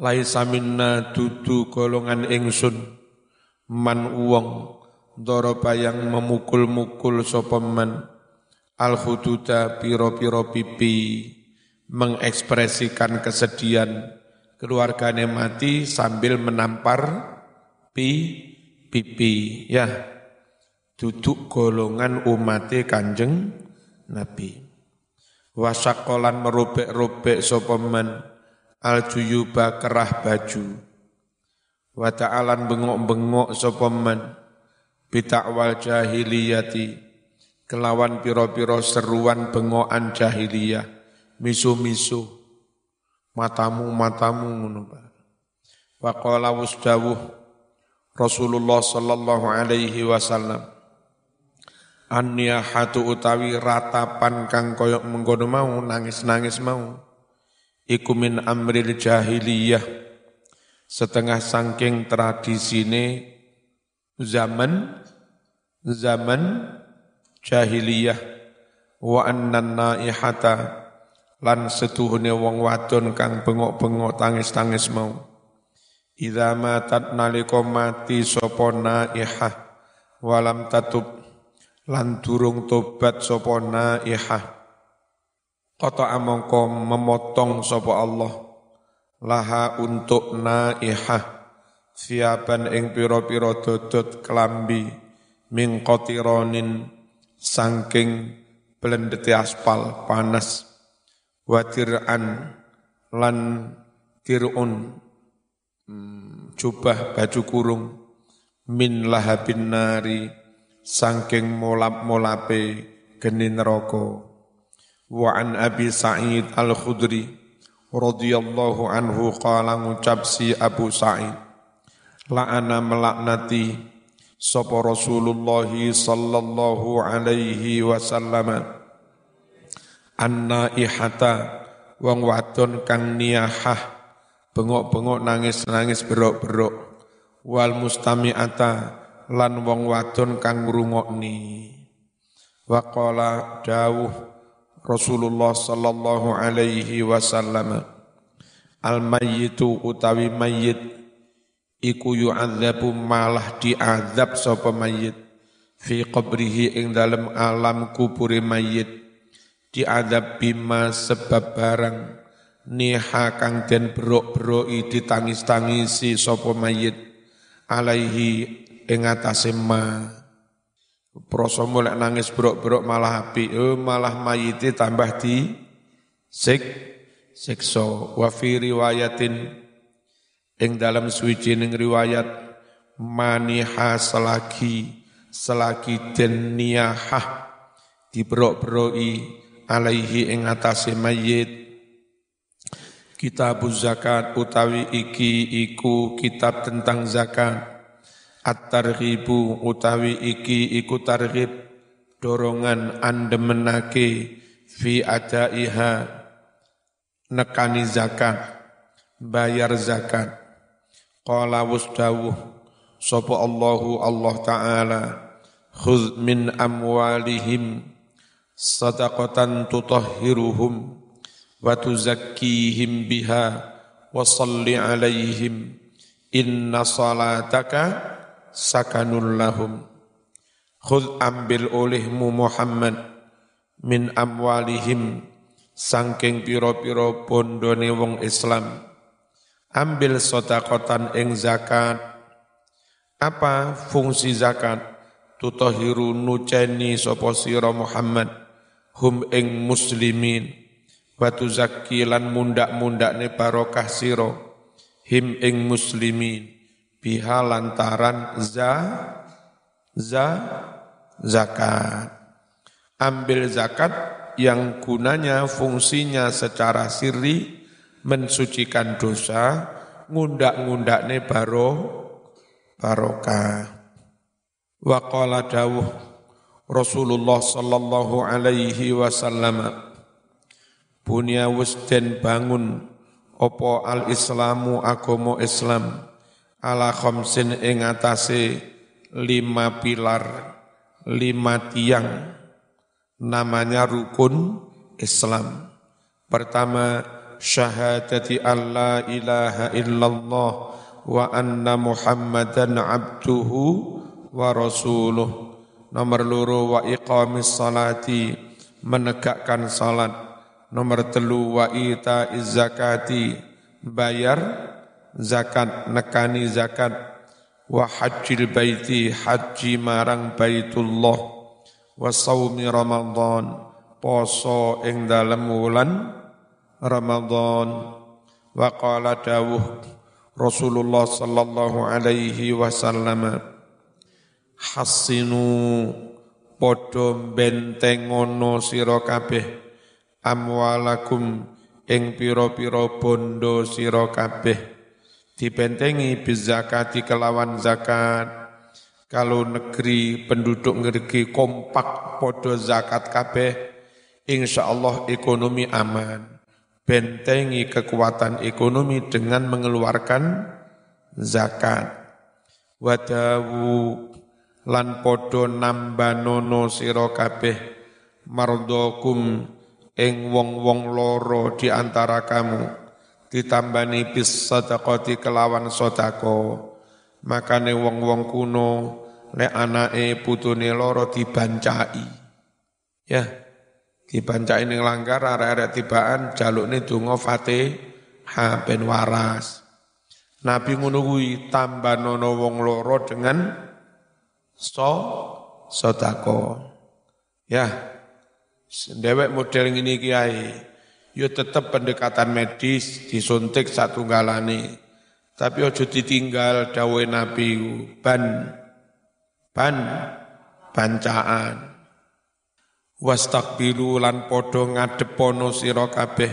laisa minna dudu golongan ingsun man wong daraba yang memukul-mukul sapa man al hududa piro-piro pipi mengekspresikan kesedihan keluargane mati sambil menampar pipi ya duduk golongan umate Kanjeng Nabi wasakolan merobek-robek sapa man al-juyuba kerah baju wa ta'alan bengok-bengok sapa man bitakwal jahiliyati kelawan piro-piro seruan bengokan jahiliyah misu-misu matamu ngono wa qala wasdawuh Rasulullah sallallahu alaihi wasallam an-niyahatu utawi ratapan kang koyok mengkono mau nangis-nangis mau iku min amril jahiliyah setengah saking tradisine zaman jahiliyah wa annan naihata lan setuhune wong wadon kang bengok-bengok tangis-tangis mau idza matat nalika mati sapa naihah walam tatub lan durung tobat sapa naihah qata amangka memotong sapa Allah laha untuk naihah siapan ing pira-pira dodot kelambi min qatironin saking blendete aspal panas watir'an lan tir'un jubah baju kurung min lahabin nari saking molap-molape geni neraka wa an Abi Sa'id Al-Khudri radhiyallahu anhu qala ngucap si Abu Sa'id la'ana melaknati sapa Rasulullah sallallahu alaihi wasallam an-naihata wong wadon kang niyahah bengok-bengok nangis-nangis berok-berok wal mustami'ata lan wong wadon kang ngrungokni wa qala dawuh Rasulullah sallallahu alaihi wasallam al-mayyitu utawi mayyit iku yu'adzabu malah diazab sapa mayyit fi qabrihi ing dalem alam kubure mayyit diazab bima sebab barang niha kang den berok-beroki ditangis-tangisi sapa mayyit alaihi ing atase ma proso mulek nangis berok-berok malah apik malah mayite tambah di siksa wa fi riwayatin ing dalam suwijining riwayat maniha selagi den niyahah diberok-beroki alaihi ing atase mayit kitabuz zakat utawi iki iku kitab tentang zakat at-targhibu utawi iki iku targhib dorongan andemenake fi adaiha nekani zakat bayar zakat qala wasdawuh sapa Allah taala khudz min amwalihim sadaqatan tutahhiruhum wa tuzakkihim biha wa shalli alaihim inna salataka sakanul lahum khudz ambil olehmu Muhammad min amwalihim sangking piro-piro bondone wong Islam ambil sedekatan ing zakat apa fungsi zakat tutahhiru nuceni sapa sira Muhammad hum ing muslimin wa tuzakkilan mundak-mundakne barokah sira him ing muslimin biha lantaran zakat. Ambil zakat yang gunanya fungsinya secara sirri mensucikan dosa, ngundak-ngundakne barokah. Wa qala dawuh Rasulullah sallallahu alaihi wasallam bunya wis den bangun apa al-islamu agama Islam ala khamsin ing atase 5 pilar 5 tiang namanya rukun Islam. Pertama syahadati an la ilaha illallah wa anna Muhammadan abduhu wa rasuluh. Nomor loro wa iqamis salati, menegakkan salat. Nomor telu wa ita'iz zakati, bayar zakat, nekani zakat. Wa hajjil baiti, haji marang baitullah. Wa saumi Ramadan, poso ing dalem wulan Ramadan. Wa qala dawuh Rasulullah sallallahu alaihi wasallam, hassinu padha bentengono sira kabeh amwalakum ing pira-pira bondo sira kabeh, dibentengi bizakati kelawan zakat. Kalau negeri penduduk negeri kompak padha zakat kabeh, insyaallah ekonomi aman. Bentengi kekuatan ekonomi dengan mengeluarkan zakat. Wadawu lan podo nambanono sira kabeh mardokum ing wong-wong loro di antara kamu, ditambani bis sadaqati kelawan sedekah. Makane wong-wong kuno lek anake putune loro dibancai, ya dibancai ning langgar arek-arek tibaan jalukne donga Fatihah ben waras. Nabi ngono kuwi tambanono wong loro dengan sedekah. Ya, dewek model ngene iki ae. Yo tetep pendekatan medis, disuntik satunggalane. Tapi aja ditinggal dawuhe Nabi bancaan. Wastaqbilu lan padha ngadepono sira kabeh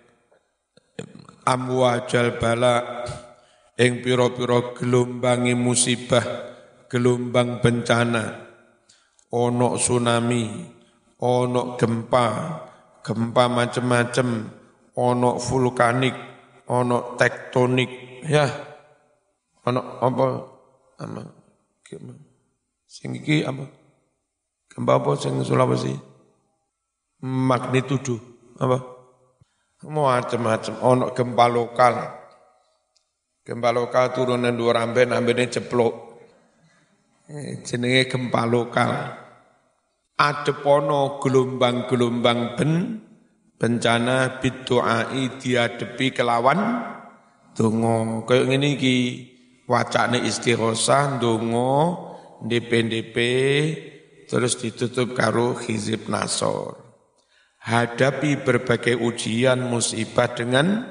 amwajal bala ing pira-pira gelombangi musibah, gelombang bencana, ono tsunami, ono gempa macam-macam, ono vulkanik, ono tektonik, ya, ono apa, sing iki apa, gempa apa sing Sulawesi, magnitudo, apa, macam-macam, ono gempa lokal turunan dua ambene ceplok. Jenenge gempa lokal. Adepono gelombang-gelombang bencana bidu'ai diadepi kelawan donga. Kaya ngene iki wacane istighosah donga DP terus ditutup karo hizib nasor. Hadapi berbagai ujian musibah dengan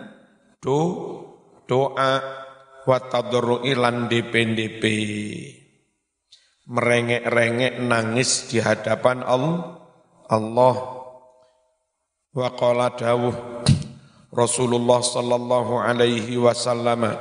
doa wa tadarru'i lan DP. Merengek-rengek nangis di hadapan Allah. Wa qala dawuh Rasulullah sallallahu alaihi wasallam,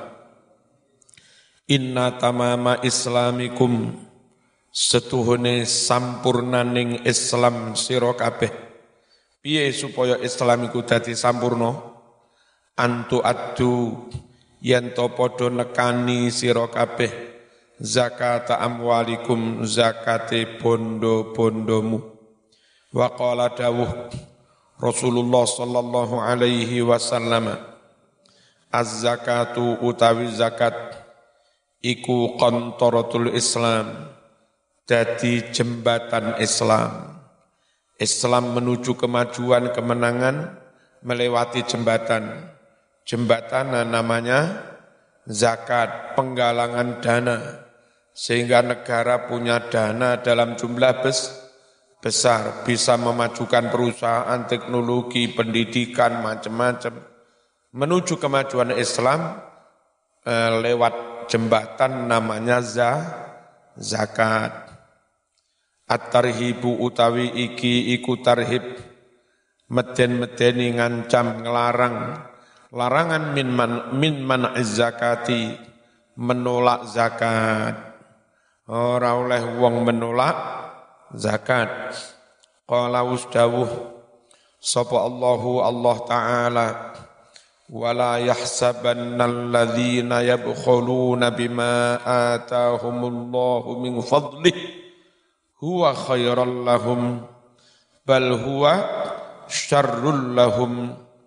inna tamama islamikum, setuhune sampurnaning Islam sira kabeh. Piye supaya Islam iku dadi sampurna? Antu addu yen to padha nekani sira kabeh zakat amwalikum, zakate bondo-bondomu. Wa qala dawuh Rasulullah sallallahu alaihi wasallam, az-zakatu utawi zakat iku qantaratul Islam, dadi jembatan Islam. Islam menuju kemajuan, kemenangan melewati jembatan. Jembatan namanya zakat, penggalangan dana. Sehingga negara punya dana dalam jumlah besar, bisa memajukan perusahaan, teknologi, pendidikan, macam-macam. Menuju kemajuan Islam lewat jembatan namanya zakat. At-tarhibu utawi iki iku tarhib, meden-medeni ngancam ngelarang, larangan min man'iz zakati, menolak zakat. Ora oleh wong menolak zakat. Qala usdawuh sapa Allah Ta'ala, wala yahsabannal ladzina yabkhuluna bima atahumullahu min fadlih huwa khairal lahum bal huwa syarrul lahum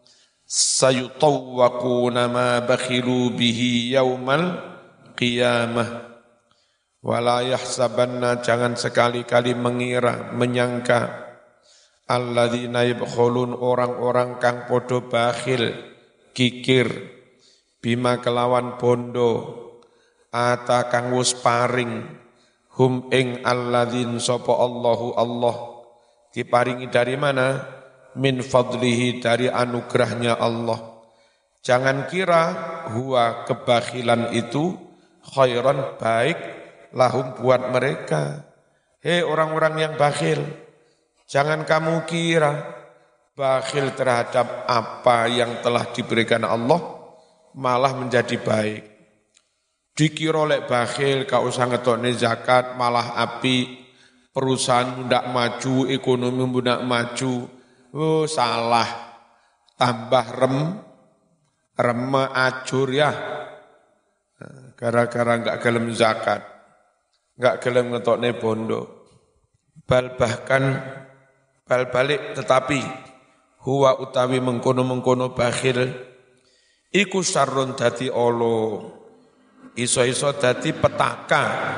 sayutawwaquna ma bakhilu bihi yaumal qiyamah. Wala yahsabanna, jangan sekali-kali mengira, menyangka, alladzina yabkhulun, orang-orang kang podo bakhil, kikir, bima kelawan bondo, ata kang wus paring, hum ing alladzin sapa Allahu Allah, diparingi dari mana? Min fadlihi, dari anugerahnya Allah. Jangan kira huwa kebakhilan itu khairan, baik, lahum buat mereka. Hei orang-orang yang bakhil, jangan kamu kira bakhil terhadap apa yang telah diberikan Allah malah menjadi baik. Dikira oleh bakhil gak usah ngetokne zakat malah api, perusahaan ndak maju, ekonomi ndak maju. Oh salah, tambah remeh ajur ya, gara-gara gak gelem zakat, gak gelem ngetokne bondo. Bahkan bal balik, tetapi huwa utawi mengkono-mengkono bakhil iku sarrun dadi olo, iso-iso dadi petaka,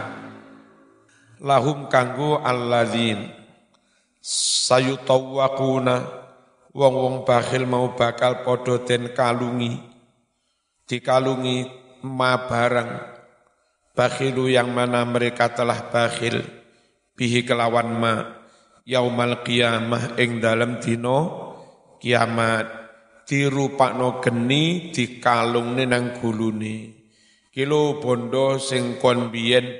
lahum kanggo alladzin sayutawwaquna, wong-wong bakhil mau bakal podo den kalungi, dikalungi ma barang, bakhilu yang mana mereka telah bakhil, bihi kelawan ma, yaumal qiyamah ing dalem dino kiamat, dirupakno geni dikalungne nang gulune. Kilo bondo sing kon biyen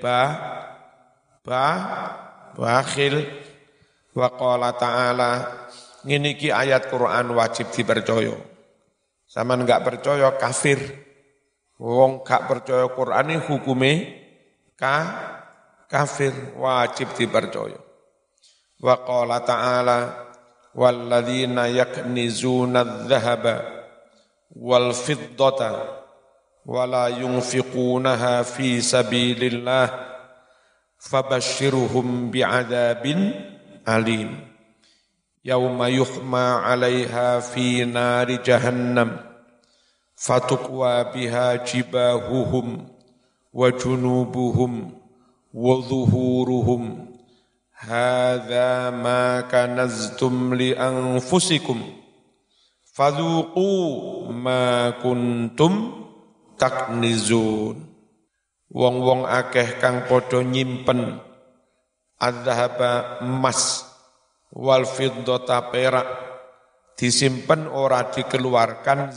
bakhil. Wa qala ta'ala, ngene iki ayat Quran wajib dipercaya. Saman enggak percaya kafir. Wong gak percaya Quran ini hukume kafir, wajib dipercaya. Wa qala ta'ala, walladzina yaknizuna adh-dhahaba wal fiddata wala yunfiqunaha fi sabilillah fabashshirhum bi'adzabin alim. Yauma yuhma 'alaiha fi nari jahannam fatukwa biha jibahuhum wa junubuhum wa dhuhuruhum hadza ma kanaztum li anfusikum fadhuqu ma kuntum taknizun. Wong-wong akeh kang padha nyimpen adzhaba emas, wal fiddata perak, disimpen ora dikeluarkan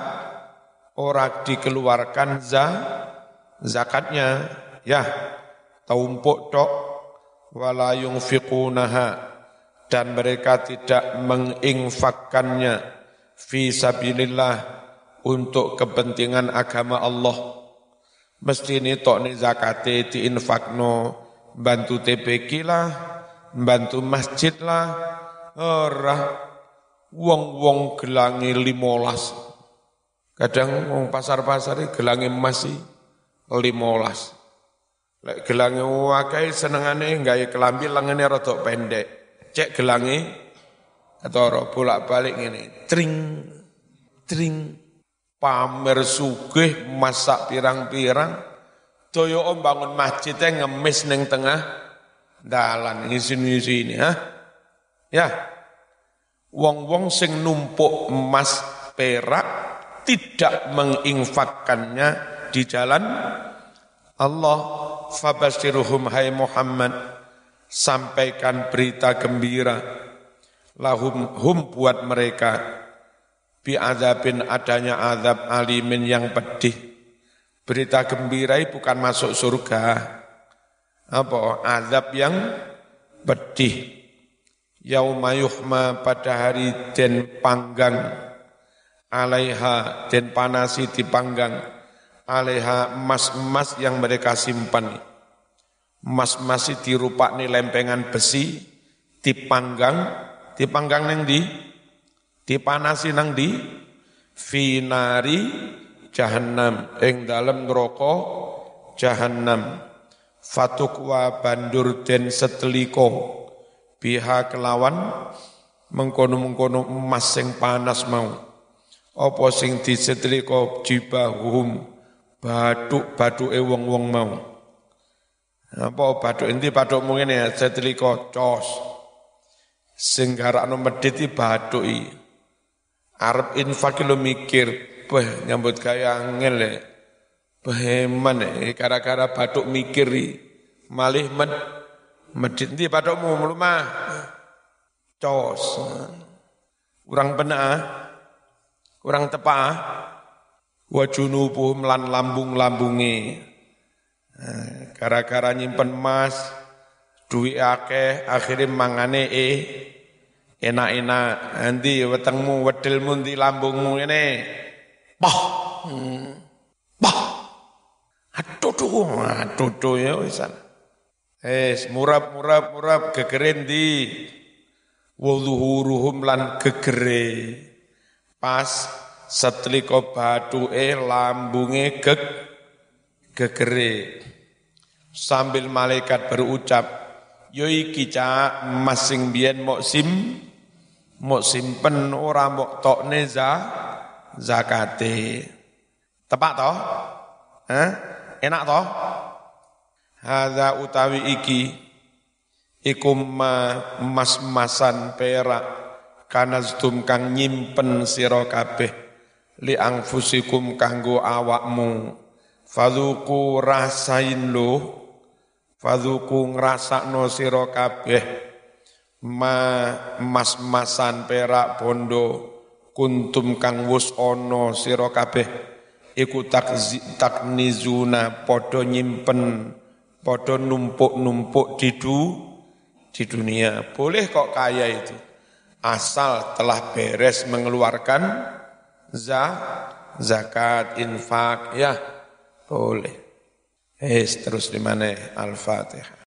zakatnya, ya tumpuk tok, wala yunfiqunaha, dan mereka tidak menginfakkannya fi sabilillah, untuk kepentingan agama Allah. Mesti ini tok ni zakate diinfakno, bantu TPQ lah, bantu masjid lah, ora wong-wong gelangi 15. Kadang wong pasar-pasar gelangi masih 15. Lek gelangi wakai senengane gawe kelambi lengene rada pendek. Cek gelangi ketara bolak-balik ngene, tring pamer sugih masak pirang-pirang. Daya bangun masjidnya ngemis ning tengah dalan ngisi-ngisi ini, ya. Wong-wong sing numpuk emas perak tidak menginfakkannya di jalan Allah. Fabashiruhum, hai Muhammad, sampaikan berita gembira, lahum buat mereka, bi'adzabin, adanya azab alimin yang pedih. Berita gembira bukan masuk surga, apa azab yang pedih. Yauma yuhma, pada hari den panggang, alaiha, den panasi dipanggang, alaiha, emas-emas yang mereka simpan. Emas-emas dirupakne lempengan besi, dipanggang nang di, dipanasi nang di, finari jahannam, ing dalem neraka jahannam. Fatukwa, bandur den seteliko, biha kelawan mengkono-mengkono emas sing panas mau. apa sing disetrika jibahum bathuk-bathuke wong-wong mau. Apa bathuk endi bathukmu ngene setrika cos. Sing garakno medhit iki bathuki. Arep infak lo mikir, nyambut gawe angel le. Beheman gara-gara bathuk mikir malih medhit endi bathukmu mlumah. Cos. Kurang benak, kurang tepat. Wa junubuhum lan lambung-lambunge. Gara-gara nyimpen emas, duit akeh, akhirnya mangane enak-enak. Nanti wetengmu, wedelmu di lambungmu ini. Bah. Aduh ya wisan. Murab gegerin di. Wuluhuruhum lan gegere. Pas setlika bathuke lambunge gegere. Sambil malaikat berucap, yo iki cak masing biyen mok simpen ora mok tokne zakate. Tepak toh? Enak toh? Hadza utawi iki iku mas-masan perak kanaztum kang nyimpen sira kabeh li anfusikum kanggo awakmu fadzuku rasain lo fadzuku ngrasakno sira kabeh mas-masan perak bondo kuntum kang wus ana sira kabeh iku taknizuna padha nyimpen padha numpuk-numpuk di dunia. Boleh kok kaya itu asal telah beres mengeluarkan zakat, infak, ya boleh. Terus di mana? Al-Fatihah.